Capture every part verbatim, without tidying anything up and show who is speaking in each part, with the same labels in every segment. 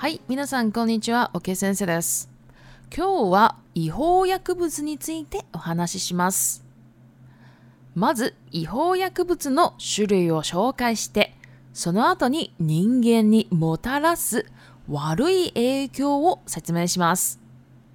Speaker 1: はい、皆さんこんにちは、OK 先生です。今日は違法薬物についてお話しします。まず、違法薬物の種類を紹介して、その後に人間にもたらす悪い影響を説明します。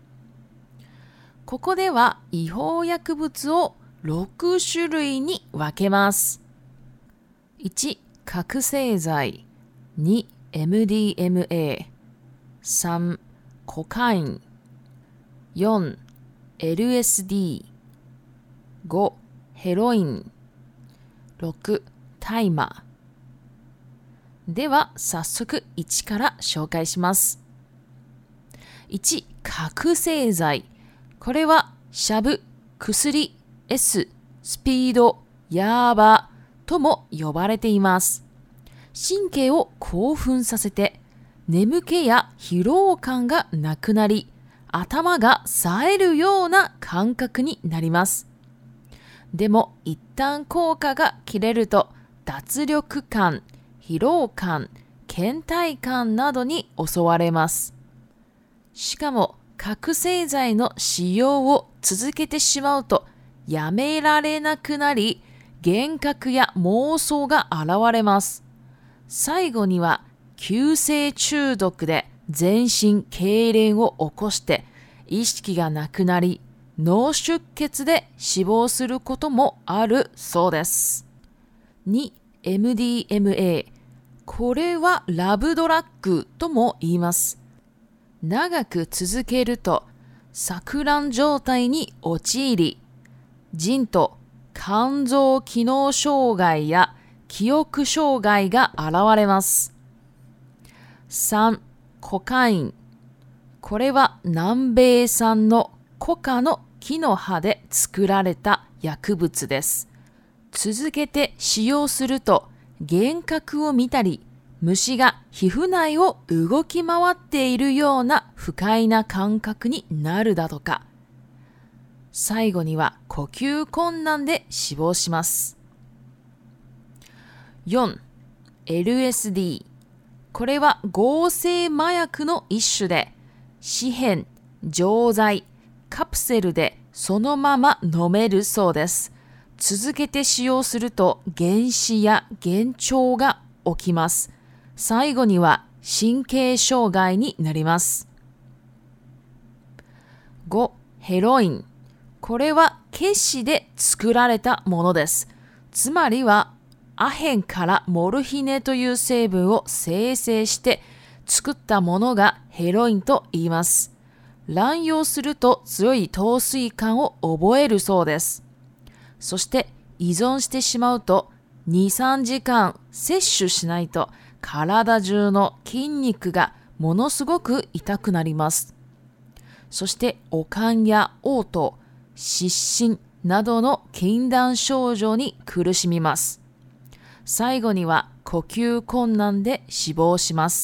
Speaker 1: ここでは違法薬物をろく種類に分けます。いち、覚醒剤。に、エムディーエムエー。さん、コカイン。よん、エルエスディー。ご、ヘロイン。ろく、大麻。では、早速いちから紹介します。いち、覚醒剤。これは、シャブ、薬、S、スピード、ヤーバとも呼ばれています。神経を興奮させて、眠気や疲労感がなくなり、頭が冴えるような感覚になります。でも一旦効果が切れると、脱力感、疲労感、倦怠感などに襲われます。しかも覚醒剤の使用を続けてしまうと、やめられなくなり、幻覚や妄想が現れます。最後には急性中毒で全身痙攣を起こして意識がなくなり脳出血で死亡することもあるそうです。に、エムディーエムエー。これはラブドラッグとも言います。長く続けると錯乱状態に陥り、腎と肝臓機能障害や記憶障害が現れます。さん、コカイン。これは南米産のコカの木の葉で作られた薬物です。続けて使用すると幻覚を見たり、虫が皮膚内を動き回っているような不快な感覚になるだとか。最後には呼吸困難で死亡します。よん、エルエスディー。これは合成麻薬の一種で、紙片、錠剤、カプセルでそのまま飲めるそうです。続けて使用すると幻視や幻聴が起きます。最後には神経障害になります。ご、ヘロイン。これは結紙で作られたものです。つまりはアヘンからモルヒネという成分を生成して作ったものがヘロインと言います。乱用すると強い陶酔感を覚えるそうです。そして依存してしまうとに、さんじかん摂取しないと体中の筋肉がものすごく痛くなります。そして悪寒や嘔吐、失神などの禁断症状に苦しみます。最後には呼吸困難で死亡します。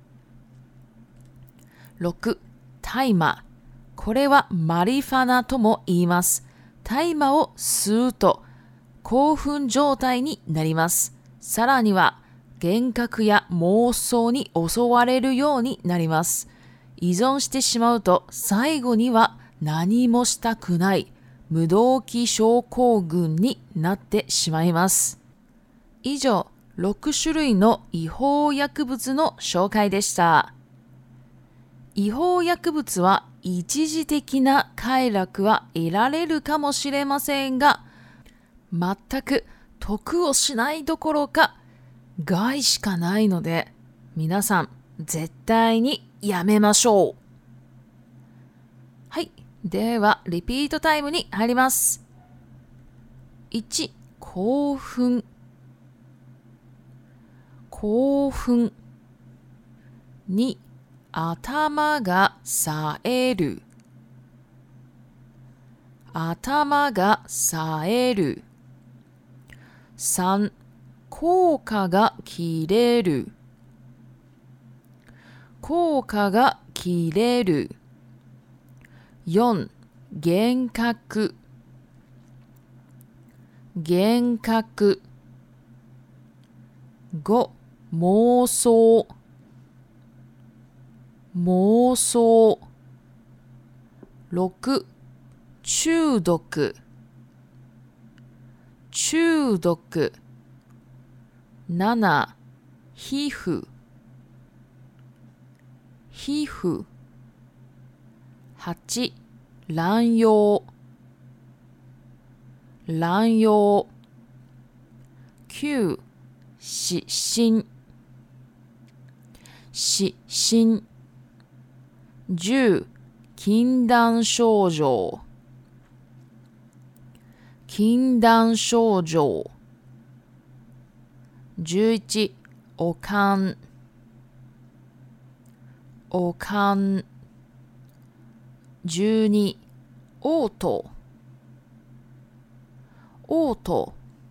Speaker 1: ろく、大麻。これはマリファナとも言います。大麻を吸うと興奮状態になります。さらには幻覚や妄想に襲われるようになります。依存してしまうと最後には何もしたくない無動機症候群になってしまいます。以上、ろく種類の違法薬物の紹介でした。違法薬物は一時的な快楽は得られるかもしれませんが、全く得をしないどころか害しかないので、皆さん絶対にやめましょう。はい、ではリピートタイムに入ります。いち、興奮。興奮。に、頭が冴える。頭が冴える。さん、効果が切れる。効果が切れる。よん、幻覚。幻覚。ご、妄想。 妄想。ろく、中毒。中毒。なな、皮膚。皮膚。はち、乱用。乱用。きゅう、失神。失神。じゅう、禁断症状。禁断症状。じゅういち、悪寒。悪寒。じゅうに、嘔吐。嘔吐。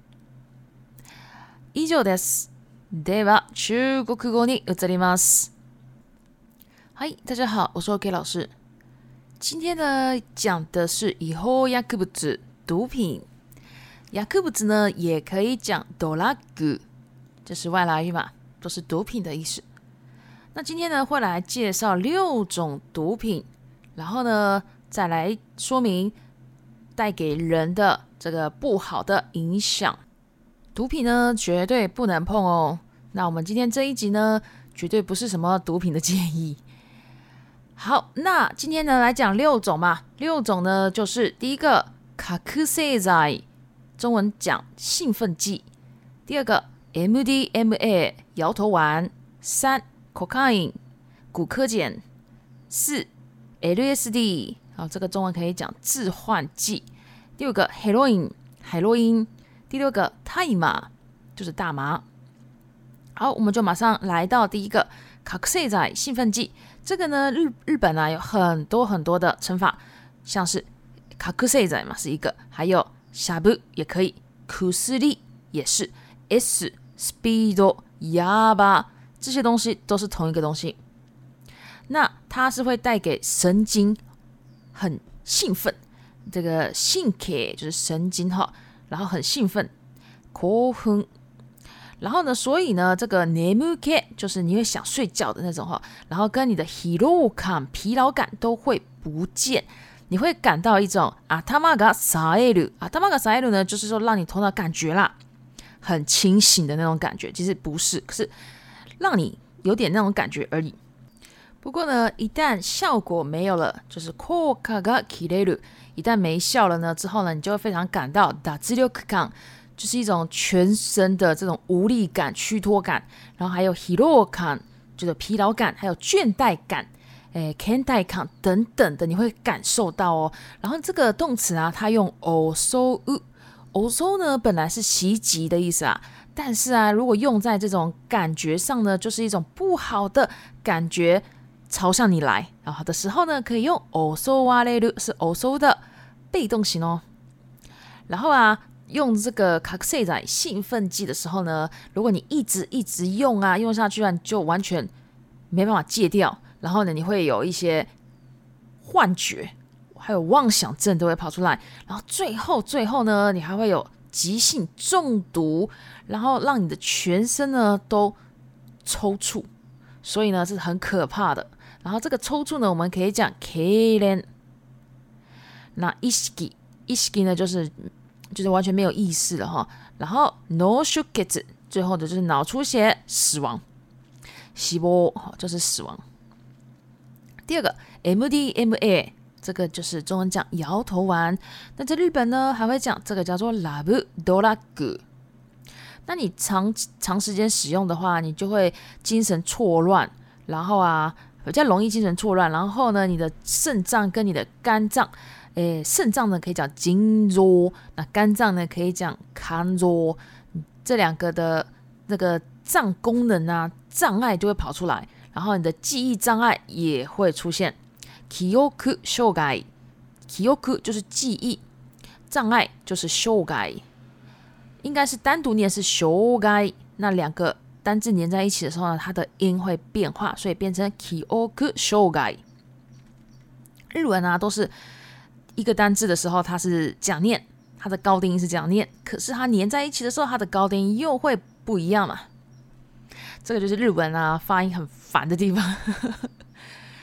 Speaker 1: 以上です。では、中国語に移ります。嗨，大家好，我是 OK 老师。今天呢，讲的是違法薬物，毒品。薬物呢，也可以讲ドラッグ，这是外来语嘛，都是毒品的意思。那今天呢，会来介绍六种毒品，然后呢，再来说明带给人的这个不好的影响。毒品呢，绝对不能碰哦。那我们今天这一集呢，绝对不是什么毒品的建议。好，那今天呢来讲六种嘛，六种呢就是第一个覚醒剤，中文讲兴奋剂；第二个 M D M A 摇头丸；三 cocaine 古柯碱；四 L S D 好，这个中文可以讲致幻剂；第五个 heroin 海洛因；第六个大麻就是大麻。好，我们就马上来到第一个覚醒剤兴奋剂。这个呢，日日本啊有很多很多的称法，像是覚醒剤嘛是一个，还有シャブ也可以，薬也是 ，S speed ヤバ这些东西都是同一个东西。那它是会带给神经很兴奋，这个神経就是神经哈，然后很兴奋，興奮。然后呢，所以呢，这个眠気就是你会想睡觉的那种哈，然后跟你的疲労感、疲劳感都会不见，你会感到一种頭が冴える，頭が冴える呢，就是说让你头脑感觉啦，很清醒的那种感觉，其实不是，可是让你有点那种感觉而已。不过呢，一旦效果没有了，就是効果が切れる，一旦没效了呢之后呢，你就会非常感到脱力感。就是一种全身的这种无力感、虚脱感，然后还有疲労感，就是疲劳感，还有倦怠感、诶、倦怠感等等的，你会感受到哦。然后这个动词啊，它用襲う，襲呢本来是袭击的意思啊，但是啊，如果用在这种感觉上呢，就是一种不好的感觉朝向你来，然后的時候呢，可以用襲われる，是襲的被动型哦。然后啊。用这个覚醒剤兴奋剂的时候呢，如果你一直一直用啊，用下去啊，你就完全没办法戒掉，然后呢，你会有一些幻觉，还有妄想症都会跑出来，然后最后最后呢，你还会有急性中毒，然后让你的全身呢都抽搐，所以呢这是很可怕的。然后这个抽搐呢，我们可以讲痙攣。那意識意識呢，就是就是完全没有意识了哈。然后脳出血，最后的就是脑出血，死亡。死亡就是死亡。第二个 M D M A， 这个就是中文讲摇头丸。那在日本呢，还会讲这个叫做ラブドラッグ。那你长长时间使用的话，你就会精神错乱，然后啊比较容易精神错乱。然后呢，你的肾脏跟你的肝脏。诶，肾脏呢可以讲筋弱，那肝脏呢可以讲肝弱，这两个的那个脏功能啊障碍就会跑出来，然后你的记忆障碍也会出现。記憶障害，記憶就是记忆，障碍就是障害，应该是单独念是障害，那两个单字连在一起的时候呢，它的音会变化，所以变成記憶障害。日文啊都是。一个单字的时候，它是这样念，它的高低音是这样念，可是它连在一起的时候，它的高低音又会不一样嘛。这个就是日文啊发音很烦的地方。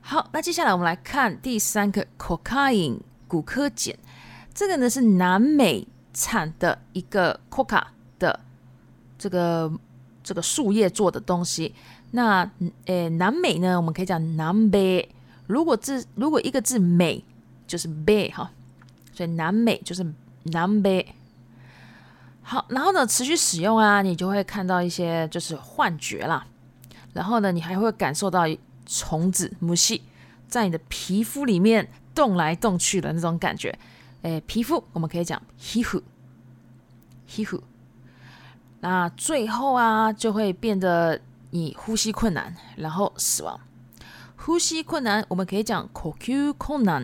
Speaker 1: 好，那接下来我们来看第三个 cocaine 古柯碱，这个呢是南美产的一个 coca 的这个这个树叶做的东西。那诶，南美呢，我们可以讲南北。如果字如果一个字美就是北哈，所以南美就是南北。好，然后呢，持续使用啊，你就会看到一些就是幻觉啦。然后呢，你还会感受到虫子、母细在你的皮肤里面动来动去的那种感觉。诶，皮肤我们可以讲皮肤，皮肤。那最后啊，就会变得你呼吸困难，然后死亡。呼吸困难，我们可以讲呼吸困難。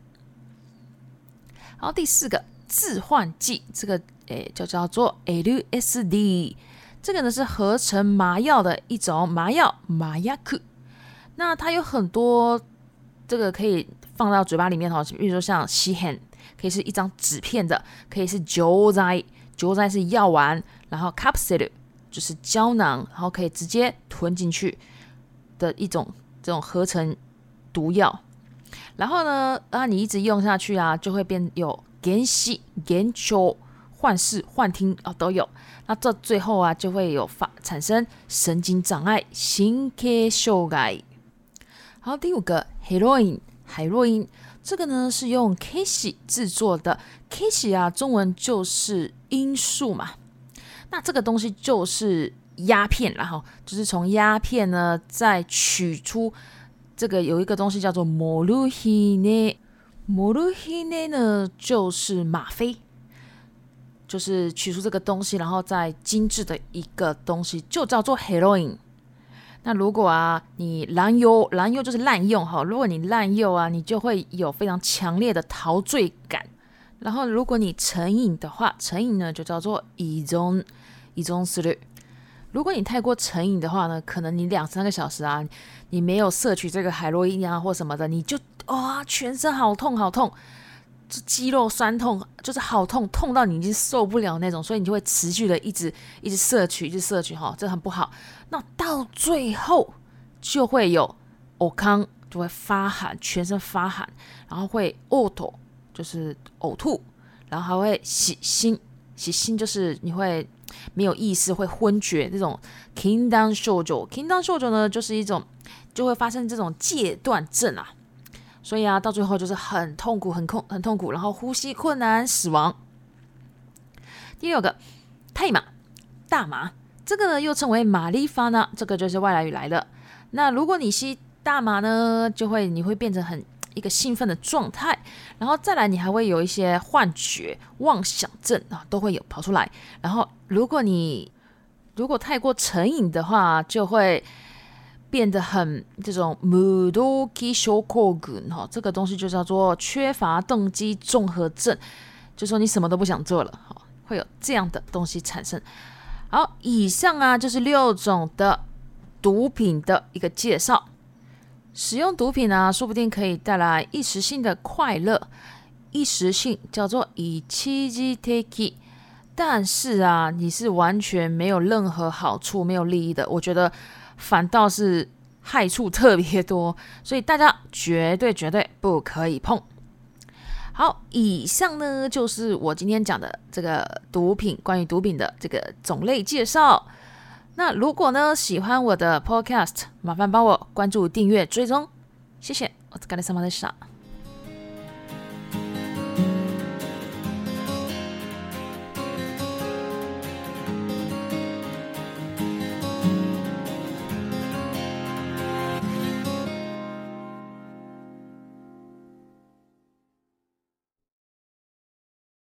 Speaker 1: 好，第四个致幻剂，这个诶就叫做 L S D， 这个呢是合成麻药的一种麻药，麻薬。那它有很多这个可以放到嘴巴里面哈，比如说像吸片，可以是一张纸片的，可以是錠剤，錠剤是药丸，然后 capsule 就是胶囊，然后可以直接吞进去的一种这种合成毒药。然后呢，啊，你一直用下去啊，就会变有幻视、幻聴、幻视、幻听啊、哦、都有。那这最后啊，就会有发产生神经障碍、神経障害。好，第五个 heroin 海洛因，这个呢是用 K 烯制作的。K 烯啊，中文就是罂粟嘛。那这个东西就是鸦片，然后就是从鸦片呢再取出这个有一个东西叫做モルヒネ。モルヒネ呢就是吗啡，就是取出这个东西，然后再精致的一个东西，就叫做 heroin。那如果啊，你滥用，滥用就是滥用哈。如果你滥用啊，你就会有非常强烈的陶醉感。然后，如果你成瘾的话，成瘾呢就叫做依存，依存する。如果你太过成瘾的话呢，可能你两三个小时啊，你没有摄取这个海洛因啊或什么的，你就哇、哦、全身好痛好痛，肌肉酸痛，就是好痛，痛到你已经受不了那种，所以你就会持续的一直一直摄取，一直摄取哈，这很不好。那到最后就会有呕康，就会发寒，全身发寒，然后会呕吐，就是呕吐，然后还会洗心，洗心就是你会没有意识，会昏厥，这种 Kingdom 症状 Kingdom 症状呢，就是一种就会发生这种戒断症啊。所以啊，到最后就是很痛苦，很痛，很痛苦，然后呼吸困难，死亡。第六个，太麻，大麻，这个呢又称为玛丽法呢，这个就是外来语来的。那如果你吸大麻呢，就会你会变成很一个兴奋的状态，然后再来你还会有一些幻觉、妄想症啊，都会有跑出来。然后如果你如果太过成瘾的话，就会变得很这种無動機症候群哈，这个东西就叫做缺乏动机综合症，就说你什么都不想做了，会有这样的东西产生。好，以上啊就是六种的毒品的一个介绍。使用毒品啊，说不定可以带来一时性的快乐，一时性叫做一時的，但是啊，你是完全没有任何好处、没有利益的。我觉得反倒是害处特别多，所以大家绝对绝对不可以碰。好，以上呢就是我今天讲的这个毒品，关于毒品的这个种类介绍。那如果呢喜欢我的 podcast， 麻烦帮我关注、订阅、追踪，谢谢。お疲れ様でした。